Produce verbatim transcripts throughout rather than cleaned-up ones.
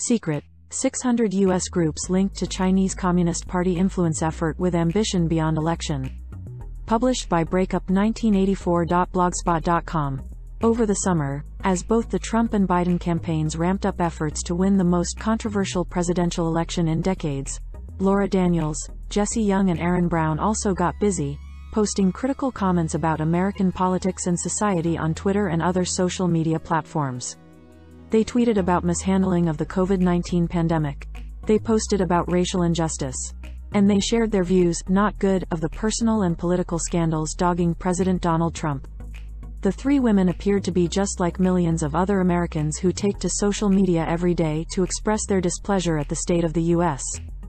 Secret, six hundred U S groups linked to Chinese Communist Party influence effort with ambition beyond election. Published by breakup nineteen eighty-four dot blogspot dot com. Over the summer, as both the Trump and Biden campaigns ramped up efforts to win the most controversial presidential election in decades, Laura Daniels, Jesse Young and Aaron Brown also got busy, posting critical comments about American politics and society on Twitter and other social media platforms. They tweeted about mishandling of the COVID nineteen pandemic. They posted about racial injustice. And they shared their views, not good, of the personal and political scandals dogging President Donald Trump. The three women appeared to be just like millions of other Americans who take to social media every day to express their displeasure at the state of the U S.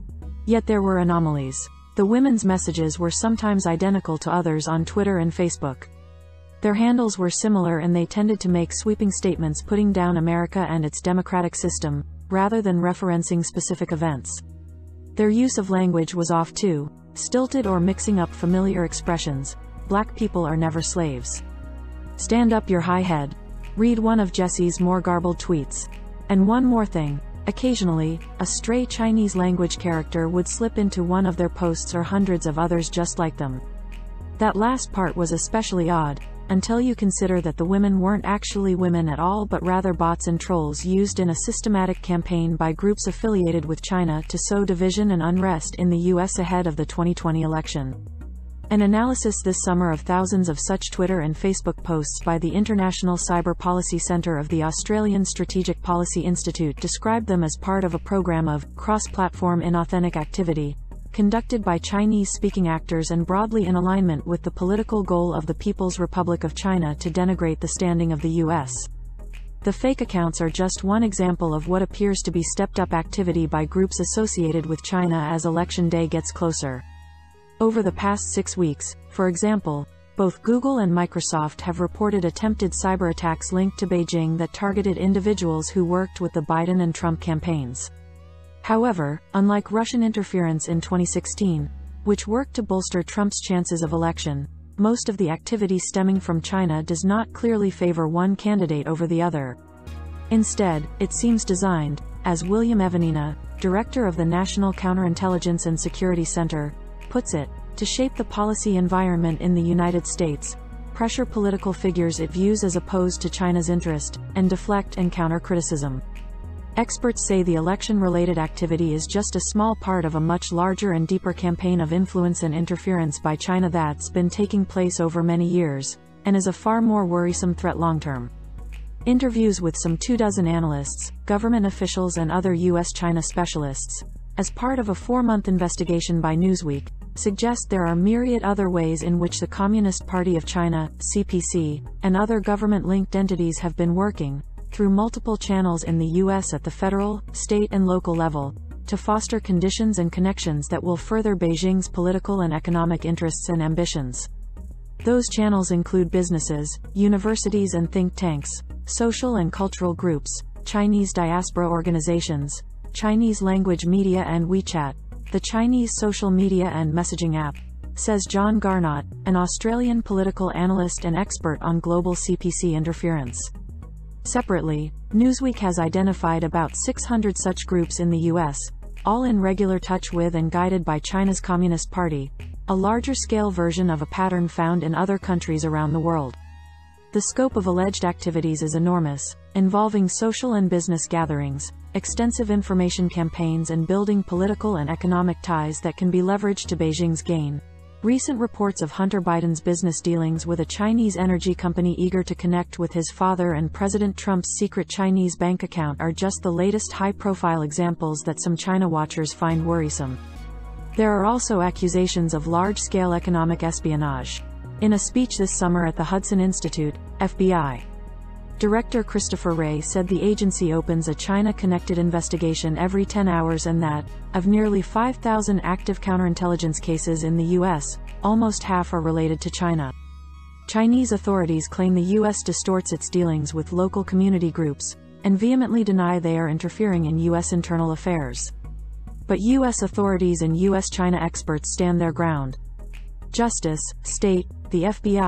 Yet there were anomalies. The women's messages were sometimes identical to others on Twitter and Facebook. Their handles were similar and they tended to make sweeping statements putting down America and its democratic system, rather than referencing specific events. Their use of language was off too, stilted or mixing up familiar expressions. Black people are never slaves. Stand up your high head. Read one of Jesse's more garbled tweets. And one more thing, occasionally, a stray Chinese language character would slip into one of their posts or hundreds of others just like them. That last part was especially odd, until you consider that the women weren't actually women at all but rather bots and trolls used in a systematic campaign by groups affiliated with China to sow division and unrest in the U S ahead of the twenty twenty election. An analysis this summer of thousands of such Twitter and Facebook posts by the International Cyber Policy Centre of the Australian Strategic Policy Institute described them as part of a program of cross-platform inauthentic activity, conducted by Chinese-speaking actors and broadly in alignment with the political goal of the People's Republic of China to denigrate the standing of the U S. The fake accounts are just one example of what appears to be stepped-up activity by groups associated with China as election day gets closer. Over the past six weeks, for example, both Google and Microsoft have reported attempted cyber attacks linked to Beijing that targeted individuals who worked with the Biden and Trump campaigns. However, unlike Russian interference in twenty sixteen, which worked to bolster Trump's chances of election, most of the activity stemming from China does not clearly favor one candidate over the other. Instead, it seems designed, as William Evanina, director of the National Counterintelligence and Security Center, puts it, to shape the policy environment in the United States, pressure political figures it views as opposed to China's interest, and deflect and counter criticism. Experts say the election-related activity is just a small part of a much larger and deeper campaign of influence and interference by China that's been taking place over many years, and is a far more worrisome threat long-term. Interviews with some two dozen analysts, government officials and other U S-China specialists, as part of a four-month investigation by Newsweek, suggest there are myriad other ways in which the Communist Party of China, C P C, and other government-linked entities have been working, through multiple channels in the U S at the federal, state and local level, to foster conditions and connections that will further Beijing's political and economic interests and ambitions. Those channels include businesses, universities and think tanks, social and cultural groups, Chinese diaspora organizations, Chinese language media and WeChat, the Chinese social media and messaging app, says John Garnott, an Australian political analyst and expert on global C P C interference. Separately, Newsweek has identified about six hundred such groups in the U S, all in regular touch with and guided by China's Communist Party, a larger-scale version of a pattern found in other countries around the world. The scope of alleged activities is enormous, involving social and business gatherings, extensive information campaigns and building political and economic ties that can be leveraged to Beijing's gain. Recent reports of Hunter Biden's business dealings with a Chinese energy company eager to connect with his father and President Trump's secret Chinese bank account are just the latest high-profile examples that some China watchers find worrisome. There are also accusations of large-scale economic espionage. In a speech this summer at the Hudson Institute, F B I Director Christopher Wray said the agency opens a China-connected investigation every ten hours and that, of nearly five thousand active counterintelligence cases in the U S, almost half are related to China. Chinese authorities claim the U S distorts its dealings with local community groups, and vehemently deny they are interfering in U S internal affairs. But U S authorities and U S-China experts stand their ground. Justice, State, the F B I,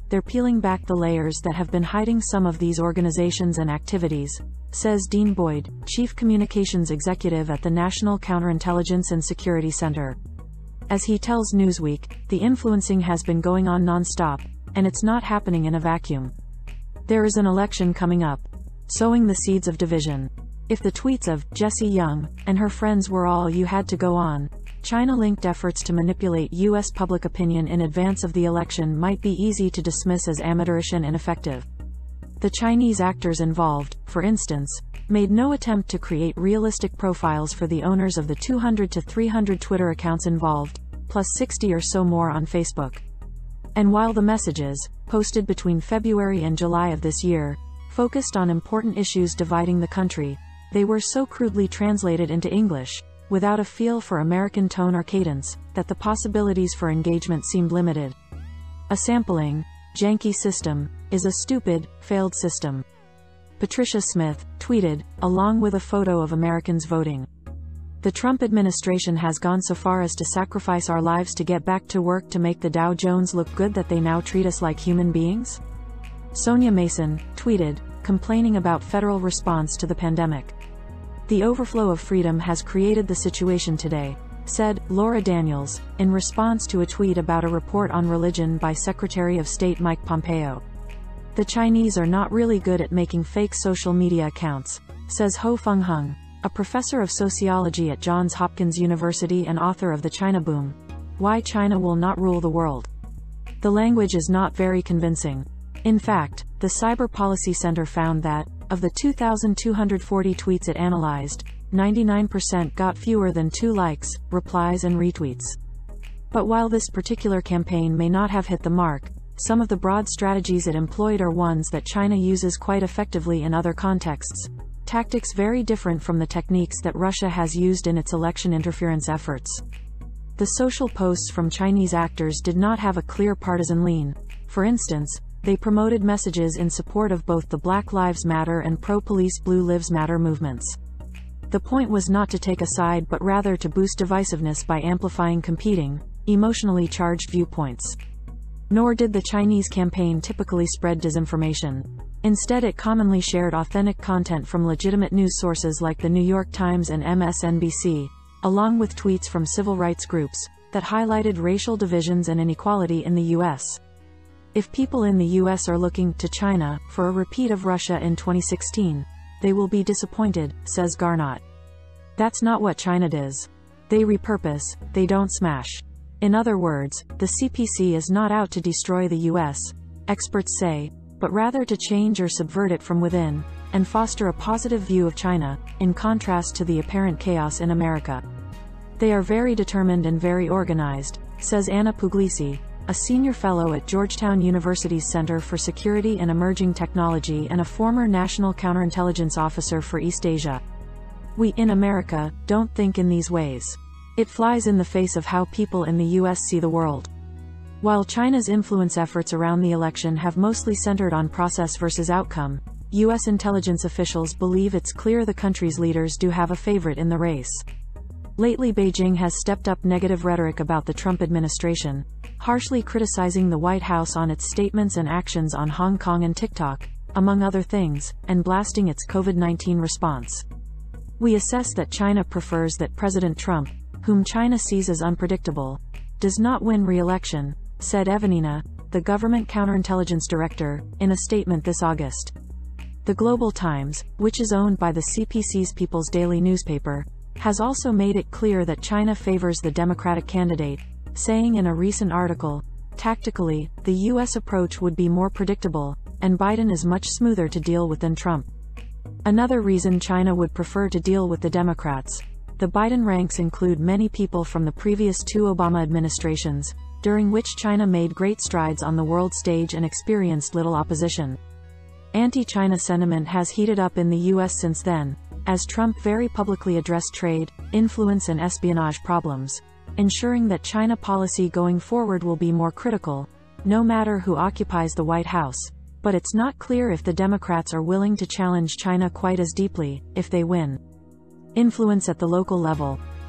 they're peeling back the layers that have been hiding some of these organizations and activities, says Dean Boyd, Chief Communications Executive at the National Counterintelligence and Security Center. As he tells Newsweek, the influencing has been going on non-stop, and it's not happening in a vacuum. There is an election coming up, sowing the seeds of division. If the tweets of Jessie Young and her friends were all you had to go on, China-linked efforts to manipulate U S public opinion in advance of the election might be easy to dismiss as amateurish and ineffective. The Chinese actors involved, for instance, made no attempt to create realistic profiles for the owners of the two hundred to three hundred Twitter accounts involved, plus sixty or so more on Facebook. And while the messages, posted between February and July of this year, focused on important issues dividing the country, they were so crudely translated into English, without a feel for American tone or cadence, that the possibilities for engagement seemed limited. A sampling, janky system is a stupid, failed system. Patricia Smith tweeted, along with a photo of Americans voting. The Trump administration has gone so far as to sacrifice our lives to get back to work to make the Dow Jones look good that they now treat us like human beings? Sonia Mason tweeted, complaining about federal response to the pandemic. The overflow of freedom has created the situation today, said Laura Daniels, in response to a tweet about a report on religion by Secretary of State Mike Pompeo. The Chinese are not really good at making fake social media accounts, says Ho Feng Hung, a professor of sociology at Johns Hopkins University and author of The China Boom: Why China Will Not Rule the World. The language is not very convincing. In fact, the Cyber Policy Center found that, of the two thousand two hundred forty tweets it analyzed, ninety-nine percent got fewer than two likes, replies and retweets. But while this particular campaign may not have hit the mark, some of the broad strategies it employed are ones that China uses quite effectively in other contexts, tactics very different from the techniques that Russia has used in its election interference efforts. The social posts from Chinese actors did not have a clear partisan lean. For instance, they promoted messages in support of both the Black Lives Matter and pro-police Blue Lives Matter movements. The point was not to take a side but rather to boost divisiveness by amplifying competing, emotionally charged viewpoints. Nor did the Chinese campaign typically spread disinformation. Instead, it commonly shared authentic content from legitimate news sources like the New York Times and M S N B C, along with tweets from civil rights groups that highlighted racial divisions and inequality in the U S. If people in the U S are looking to China for a repeat of Russia in twenty sixteen, they will be disappointed, says Garnot. That's not what China does. They repurpose, they don't smash. In other words, the C P C is not out to destroy the U S, experts say, but rather to change or subvert it from within, and foster a positive view of China, in contrast to the apparent chaos in America. They are very determined and very organized, says Anna Puglisi, a senior fellow at Georgetown University's Center for Security and Emerging Technology and a former national counterintelligence officer for East Asia. We in America don't think in these ways. It flies in the face of how people in the U S see the world. While China's influence efforts around the election have mostly centered on process versus outcome, U S intelligence officials believe it's clear the country's leaders do have a favorite in the race. Lately, Beijing has stepped up negative rhetoric about the Trump administration, harshly criticizing the White House on its statements and actions on Hong Kong and TikTok, among other things, and blasting its COVID nineteen response. We assess that China prefers that President Trump, whom China sees as unpredictable, does not win re-election, said Evanina, the government counterintelligence director, in a statement this August. The Global Times, which is owned by the C P C's People's Daily newspaper, has also made it clear that China favors the Democratic candidate, saying in a recent article, tactically, the U S approach would be more predictable, and Biden is much smoother to deal with than Trump. Another reason China would prefer to deal with the Democrats. The Biden ranks include many people from the previous two Obama administrations, during which China made great strides on the world stage and experienced little opposition. Anti-China sentiment has heated up in the U S since then, as Trump very publicly addressed trade, influence and espionage problems, ensuring that China policy going forward will be more critical, no matter who occupies the White House. But it's not clear if the Democrats are willing to challenge China quite as deeply, if they win. Influence at the local level.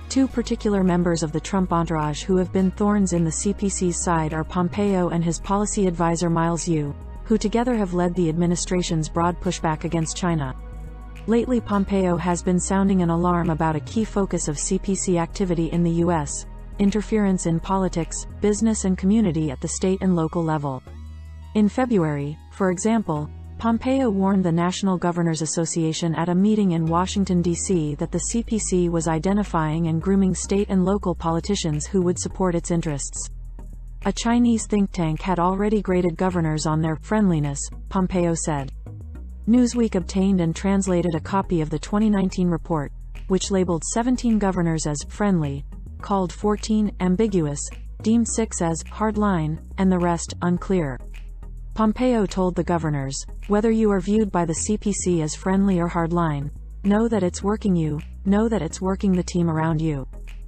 Two particular members of the Trump entourage who have been thorns in the C P C's side are Pompeo and his policy advisor Miles Yu, who together have led the administration's broad pushback against China. Lately, Pompeo has been sounding an alarm about a key focus of C P C activity in the U S, interference in politics, business and community at the state and local level. In February, for example, Pompeo warned the National Governors Association at a meeting in Washington, D C that the C P C was identifying and grooming state and local politicians who would support its interests. A Chinese think tank had already graded governors on their friendliness, Pompeo said. Newsweek obtained and translated a copy of the twenty nineteen report, which labeled seventeen governors as friendly, called fourteen ambiguous, deemed six as hardline, and the rest unclear. Pompeo told the governors, whether you are viewed by the C P C as friendly or hardline, know that it's working you, know that it's working the team around you.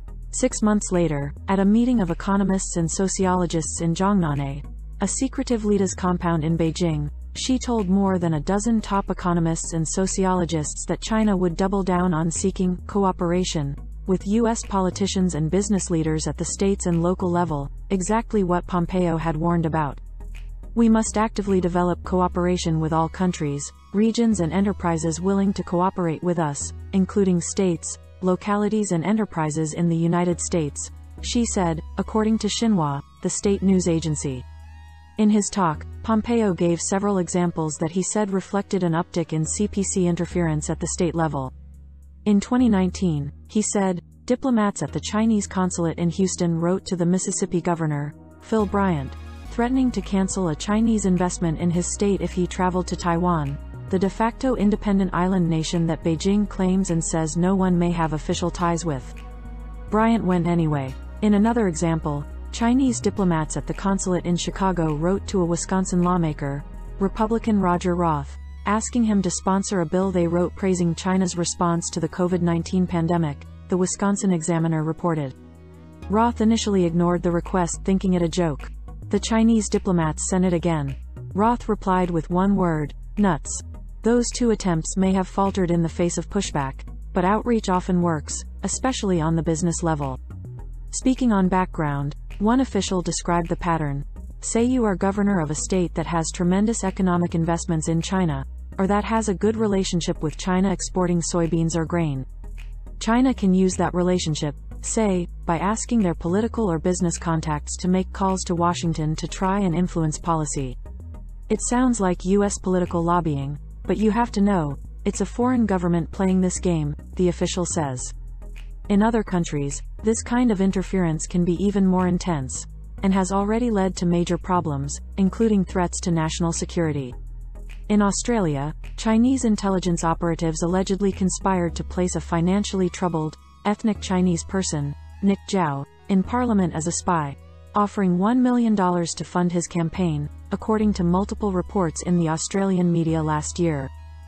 Six months later, at a meeting of economists and sociologists in Zhongnanhai, a secretive leaders compound in Beijing, she told more than a dozen top economists and sociologists that China would double down on seeking cooperation with U S politicians and business leaders at the states and local level, exactly what Pompeo had warned about. We must actively develop cooperation with all countries, regions and enterprises willing to cooperate with us, including states, localities and enterprises in the United States, she said, according to Xinhua, the state news agency. In his talk, Pompeo gave several examples that he said reflected an uptick in C P C interference at the state level. In twenty nineteen, he said, diplomats at the Chinese consulate in Houston wrote to the Mississippi governor, Phil Bryant, threatening to cancel a Chinese investment in his state if he traveled to Taiwan, the de facto independent island nation that Beijing claims and says no one may have official ties with. Bryant went anyway. In another example, Chinese diplomats at the consulate in Chicago wrote to a Wisconsin lawmaker, Republican Roger Roth, asking him to sponsor a bill they wrote praising China's response to the COVID nineteen pandemic, the Wisconsin Examiner reported. Roth initially ignored the request, thinking it a joke. The Chinese diplomats sent it again. Roth replied with one word, nuts. Those two attempts may have faltered in the face of pushback, but outreach often works, especially on the business level. Speaking on background, one official described the pattern. Say you are governor of a state that has tremendous economic investments in China, or that has a good relationship with China exporting soybeans or grain. China can use that relationship, say, by asking their political or business contacts to make calls to Washington to try and influence policy. It sounds like U S political lobbying, but you have to know, it's a foreign government playing this game, the official says. In other countries, this kind of interference can be even more intense, and has already led to major problems, including threats to national security. In Australia, Chinese intelligence operatives allegedly conspired to place a financially troubled, ethnic Chinese person, Nick Zhao, in parliament as a spy, offering one million dollars to fund his campaign, according to multiple reports in the Australian media last year.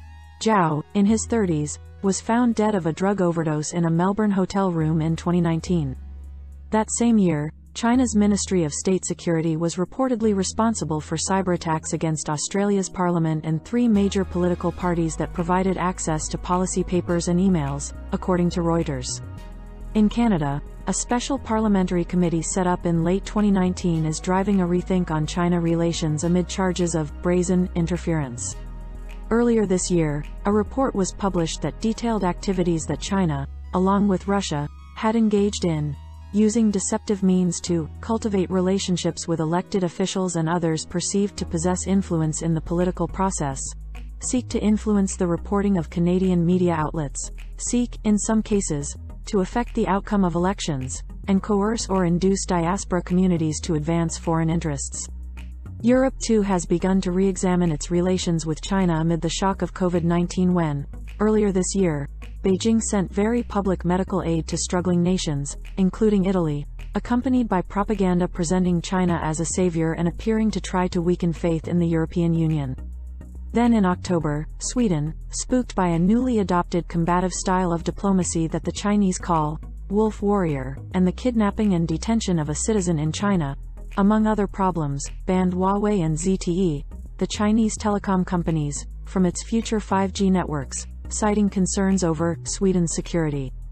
Zhao, in his thirties, was found dead of a drug overdose in a Melbourne hotel room in twenty nineteen. That same year, China's Ministry of State Security was reportedly responsible for cyberattacks against Australia's parliament and three major political parties that provided access to policy papers and emails, according to Reuters. In Canada, a special parliamentary committee set up in late twenty nineteen is driving a rethink on China relations amid charges of brazen interference. Earlier this year, a report was published that detailed activities that China, along with Russia, had engaged in, using deceptive means to cultivate relationships with elected officials and others perceived to possess influence in the political process, seek to influence the reporting of Canadian media outlets, seek, in some cases, to affect the outcome of elections, and coerce or induce diaspora communities to advance foreign interests. Europe too has begun to re-examine its relations with China amid the shock of COVID nineteen when, earlier this year, Beijing sent very public medical aid to struggling nations, including Italy, accompanied by propaganda presenting China as a savior and appearing to try to weaken faith in the European Union. Then in October, Sweden, spooked by a newly adopted combative style of diplomacy that the Chinese call wolf warrior, and the kidnapping and detention of a citizen in China, among other problems, banned Huawei and Z T E, the Chinese telecom companies, from its future five G networks, citing concerns over Sweden's security.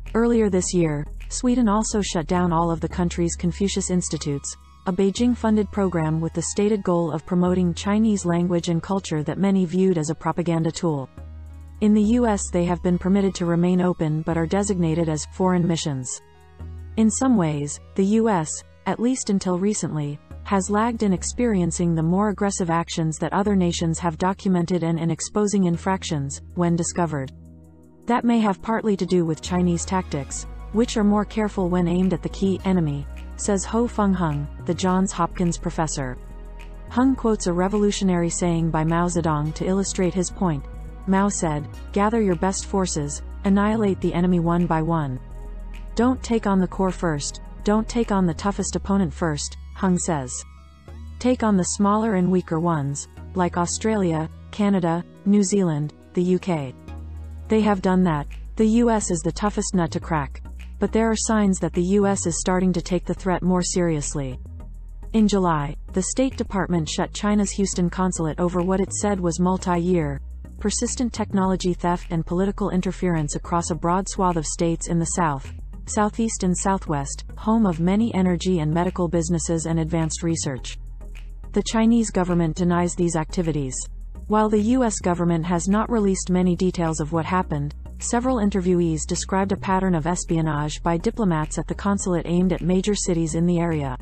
Earlier this year, Sweden also shut down all of the country's Confucius Institutes, a Beijing-funded program with the stated goal of promoting Chinese language and culture that many viewed as a propaganda tool. In the U S they have been permitted to remain open but are designated as foreign missions. In some ways, the U S, at least until recently, has lagged in experiencing the more aggressive actions that other nations have documented and in exposing infractions, when discovered. That may have partly to do with Chinese tactics, which are more careful when aimed at the key enemy, says Ho Fung Hung, the Johns Hopkins professor. Hung quotes a revolutionary saying by Mao Zedong to illustrate his point. Mao said, "Gather your best forces, annihilate the enemy one by one. Don't take on the core first, don't take on the toughest opponent first," Hung says. Take on the smaller and weaker ones, like Australia, Canada, New Zealand, the U K. They have done that. The U S is the toughest nut to crack. But there are signs that the U S is starting to take the threat more seriously. In July, the State Department shut China's Houston consulate over what it said was multi-year, persistent technology theft and political interference across a broad swath of states in the South, Southeast and Southwest, home of many energy and medical businesses and advanced research. The Chinese government denies these activities. While the U S government has not released many details of what happened, several interviewees described a pattern of espionage by diplomats at the consulate aimed at major cities in the area.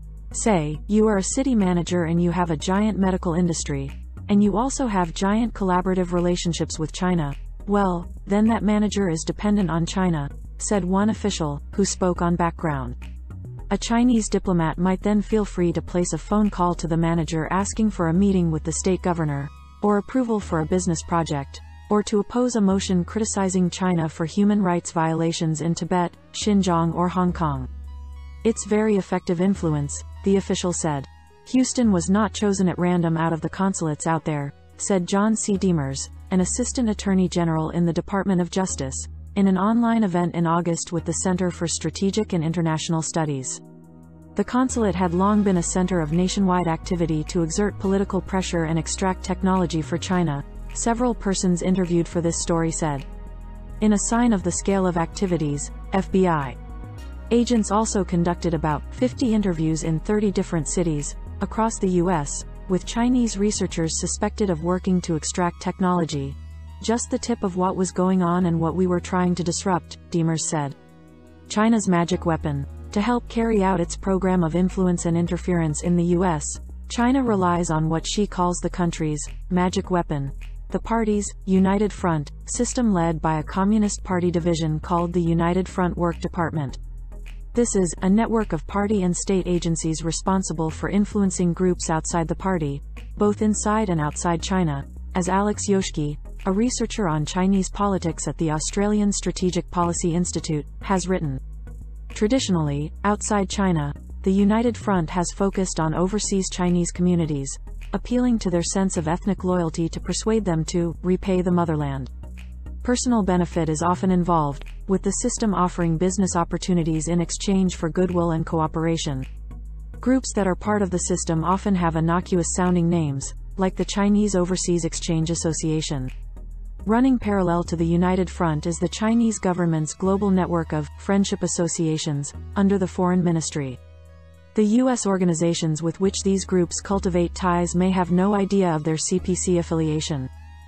Say, you are a city manager and you have a giant medical industry, and you also have giant collaborative relationships with China. Well, then that manager is dependent on China, said one official, who spoke on background. A Chinese diplomat might then feel free to place a phone call to the manager asking for a meeting with the state governor, or approval for a business project, or to oppose a motion criticizing China for human rights violations in Tibet, Xinjiang or Hong Kong. It's very effective influence, the official said. Houston was not chosen at random out of the consulates out there, said John C. Demers, an assistant attorney general in the Department of Justice, in an online event in August with the Center for Strategic and International Studies. The consulate had long been a center of nationwide activity to exert political pressure and extract technology for China, several persons interviewed for this story said. In a sign of the scale of activities, F B I agents also conducted about fifty interviews in thirty different cities across the U S, with Chinese researchers suspected of working to extract technology. Just the tip of what was going on and what we were trying to disrupt, Demers said. China's magic weapon. To help carry out its program of influence and interference in the U S, China relies on what she calls the country's magic weapon, the party's United Front system led by a Communist Party division called the United Front Work Department. This is a network of party and state agencies responsible for influencing groups outside the party, both inside and outside China, as Alex Yoshki, a researcher on Chinese politics at the Australian Strategic Policy Institute, has written. Traditionally, outside China, the United Front has focused on overseas Chinese communities, appealing to their sense of ethnic loyalty to persuade them to repay the motherland. Personal benefit is often involved, with the system offering business opportunities in exchange for goodwill and cooperation. Groups that are part of the system often have innocuous-sounding names, like the Chinese Overseas Exchange Association. Running parallel to the United Front is the Chinese government's global network of friendship associations, under the Foreign Ministry. The U S organizations with which these groups cultivate ties may have no idea of their C P C affiliation.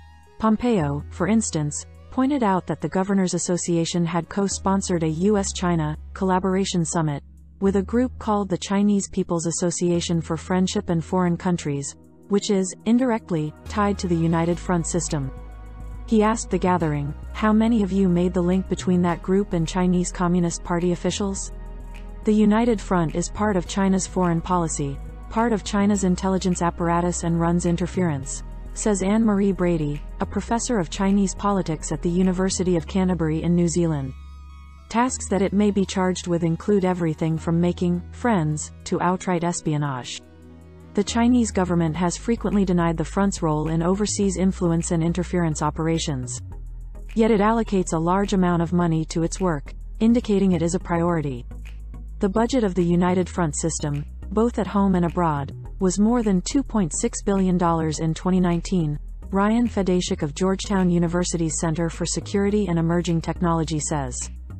Pompeo, for instance, pointed out that the Governors Association had co-sponsored a U S China collaboration summit with a group called the Chinese People's Association for Friendship and Foreign Countries, which is, indirectly, tied to the United Front system. He asked the gathering, how many of you made the link between that group and Chinese Communist Party officials? The United Front is part of China's foreign policy, part of China's intelligence apparatus and runs interference, says Anne-Marie Brady, a professor of Chinese politics at the University of Canterbury in New Zealand. Tasks that it may be charged with include everything from making friends to outright espionage. The Chinese government has frequently denied the front's role in overseas influence and interference operations. Yet it allocates a large amount of money to its work, indicating it is a priority. The budget of the United Front system, both at home and abroad, was more than two point six billion dollars in twenty nineteen, Ryan Fedashik of Georgetown University's Center for Security and Emerging Technology says.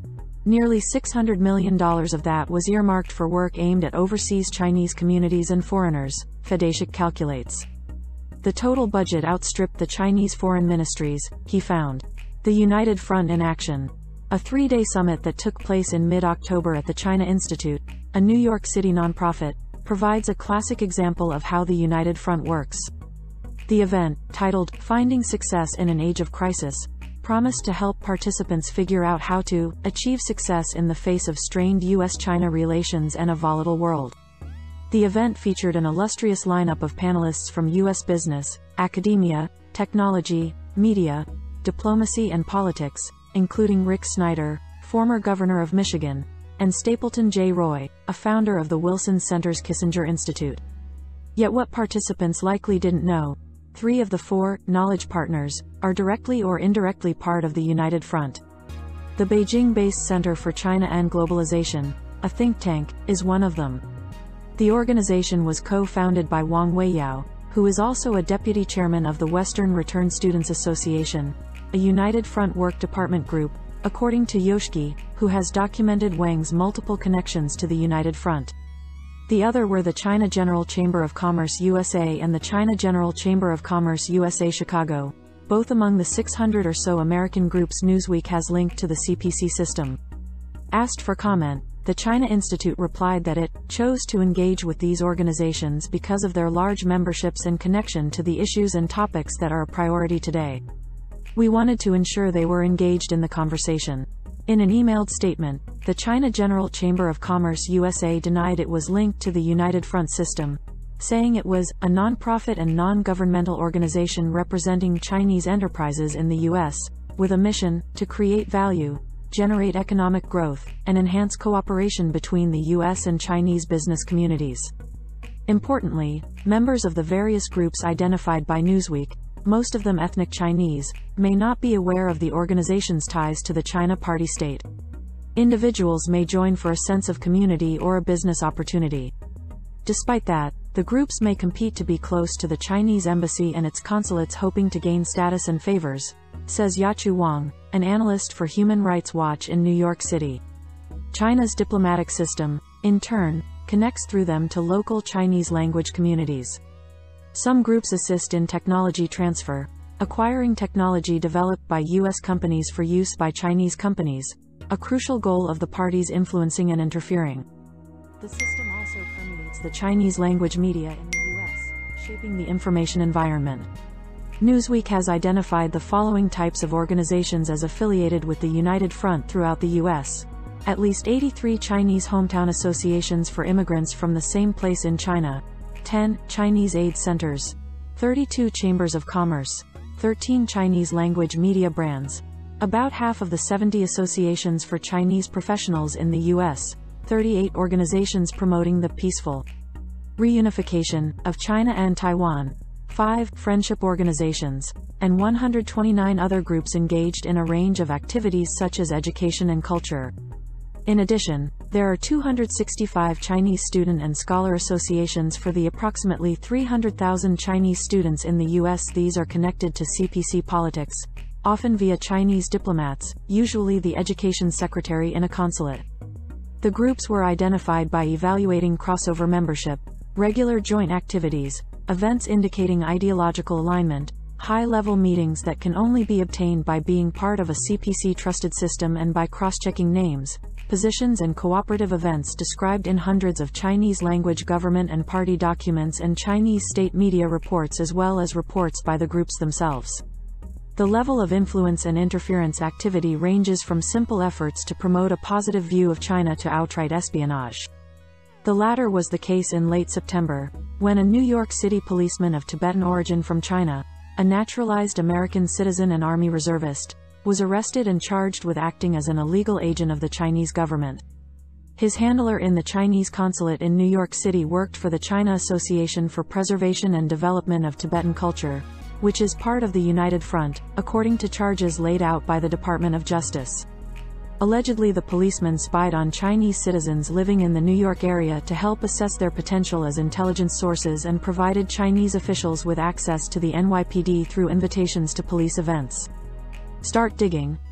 Nearly six hundred million dollars of that was earmarked for work aimed at overseas Chinese communities and foreigners, Fedashik calculates. The total budget outstripped the Chinese foreign ministries, he found. The United Front in Action. A three-day summit that took place in mid-October at the China Institute, a New York City nonprofit, provides a classic example of how the United Front works. The event, titled Finding Success in an Age of Crisis, promised to help participants figure out how to achieve success in the face of strained U S China relations and a volatile world. The event featured an illustrious lineup of panelists from U S business, academia, technology, media, diplomacy and politics, including Rick Snyder, former governor of Michigan, and Stapleton J. Roy, a founder of the Wilson Center's Kissinger Institute. Yet what participants likely didn't know, three of the four knowledge partners are directly or indirectly part of the United Front. The Beijing-based Center for China and Globalization, a think tank, is one of them. The organization was co-founded by Wang Weiyao, who is also a deputy chairman of the Western Return Students Association, a United Front work department group, according to Yoshiki, who has documented Wang's multiple connections to the United Front. The other were the China General Chamber of Commerce U S A and the China General Chamber of Commerce U S A Chicago, both among the six hundred or so American groups Newsweek has linked to the C P C system. Asked for comment, the China Institute replied that it chose to engage with these organizations because of their large memberships and connection to the issues and topics that are a priority today. We wanted to ensure they were engaged in the conversation. In an emailed statement, the China General Chamber of Commerce U S A denied it was linked to the United Front system, saying it was a non-profit and non-governmental organization representing Chinese enterprises in the U S, with a mission to create value, generate economic growth, and enhance cooperation between the U S and Chinese business communities. Importantly, members of the various groups identified by Newsweek, most of them ethnic Chinese, may not be aware of the organization's ties to the China Party state. Individuals may join for a sense of community or a business opportunity. Despite that, the groups may compete to be close to the Chinese embassy and its consulates, hoping to gain status and favors, says Yachu Wang, an analyst for Human Rights Watch in New York City. China's diplomatic system, in turn, connects through them to local Chinese language communities. Some groups assist in technology transfer, acquiring technology developed by U S companies for use by Chinese companies, a crucial goal of the parties influencing and interfering. The system also permeates the Chinese language media in the U S, shaping the information environment. Newsweek has identified the following types of organizations as affiliated with the United Front throughout the U S. At least eighty-three Chinese hometown associations for immigrants from the same place in China, ten Chinese aid centers, thirty-two chambers of commerce, thirteen Chinese language media brands, about half of the seventy associations for Chinese professionals in the U S, thirty-eight organizations promoting the peaceful reunification of China and Taiwan, five friendship organizations, and one hundred twenty-nine other groups engaged in a range of activities such as education and culture. In addition, there are two hundred sixty-five Chinese student and scholar associations for the approximately three hundred thousand Chinese students in the U S. These are connected to C P C politics, often via Chinese diplomats, usually the education secretary in a consulate. The groups were identified by evaluating crossover membership, regular joint activities, events indicating ideological alignment, high-level meetings that can only be obtained by being part of a C P C-trusted system, and by cross-checking names, positions and cooperative events described in hundreds of Chinese-language government and party documents and Chinese state media reports, as well as reports by the groups themselves. The level of influence and interference activity ranges from simple efforts to promote a positive view of China to outright espionage. The latter was the case in late September, when a New York City policeman of Tibetan origin from China, a naturalized American citizen and Army reservist, was arrested and charged with acting as an illegal agent of the Chinese government. His handler in the Chinese consulate in New York City worked for the China Association for Preservation and Development of Tibetan Culture, which is part of the United Front, according to charges laid out by the Department of Justice. Allegedly, the policeman spied on Chinese citizens living in the New York area to help assess their potential as intelligence sources, and provided Chinese officials with access to the N Y P D through invitations to police events. Start digging.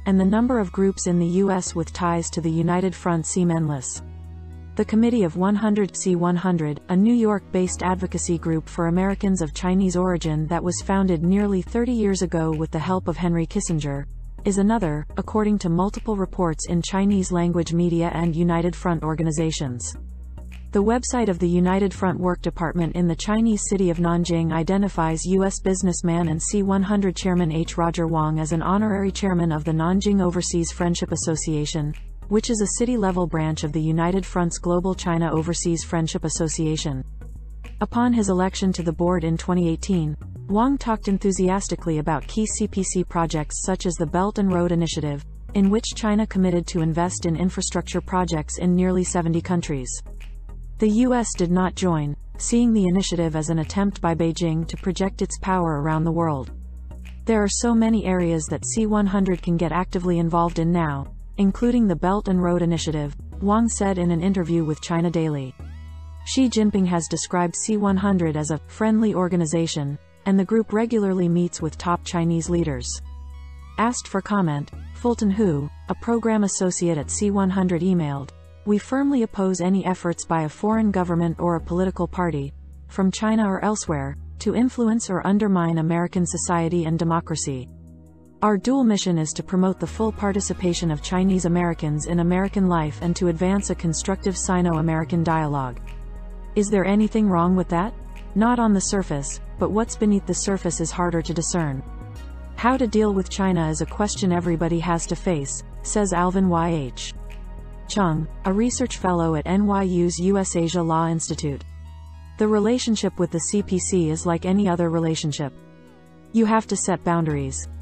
and the number of groups in the U S with ties to the United Front seem endless. The Committee of one hundred C one hundred, a New York-based advocacy group for Americans of Chinese origin that was founded nearly thirty years ago with the help of Henry Kissinger, is another, according to multiple reports in Chinese-language media and United Front organizations. The website of the United Front Work Department in the Chinese city of Nanjing identifies U S businessman and C one hundred chairman H. Roger Wong as an honorary chairman of the Nanjing Overseas Friendship Association, which is a city-level branch of the United Front's Global China Overseas Friendship Association. Upon his election to the board in twenty eighteen, Wong talked enthusiastically about key C P C projects such as the Belt and Road Initiative, in which China committed to invest in infrastructure projects in nearly seventy countries. The U S did not join, seeing the initiative as an attempt by Beijing to project its power around the world. There are so many areas that C one hundred can get actively involved in now, including the Belt and Road Initiative, Wong said in an interview with China Daily. Xi Jinping has described C one hundred as a friendly organization, and the group regularly meets with top Chinese leaders. Asked for comment, Fulton Hu, a program associate at C one hundred emailed, "We firmly oppose any efforts by a foreign government or a political party, from China or elsewhere, to influence or undermine American society and democracy. Our dual mission is to promote the full participation of Chinese Americans in American life and to advance a constructive Sino-American dialogue." Is there anything wrong with that? Not on the surface, but what's beneath the surface is harder to discern. How to deal with China is a question everybody has to face, says Alvin Y H Chung, a research fellow at N Y U's U S Asia Law Institute. The relationship with the C P C is like any other relationship. You have to set boundaries.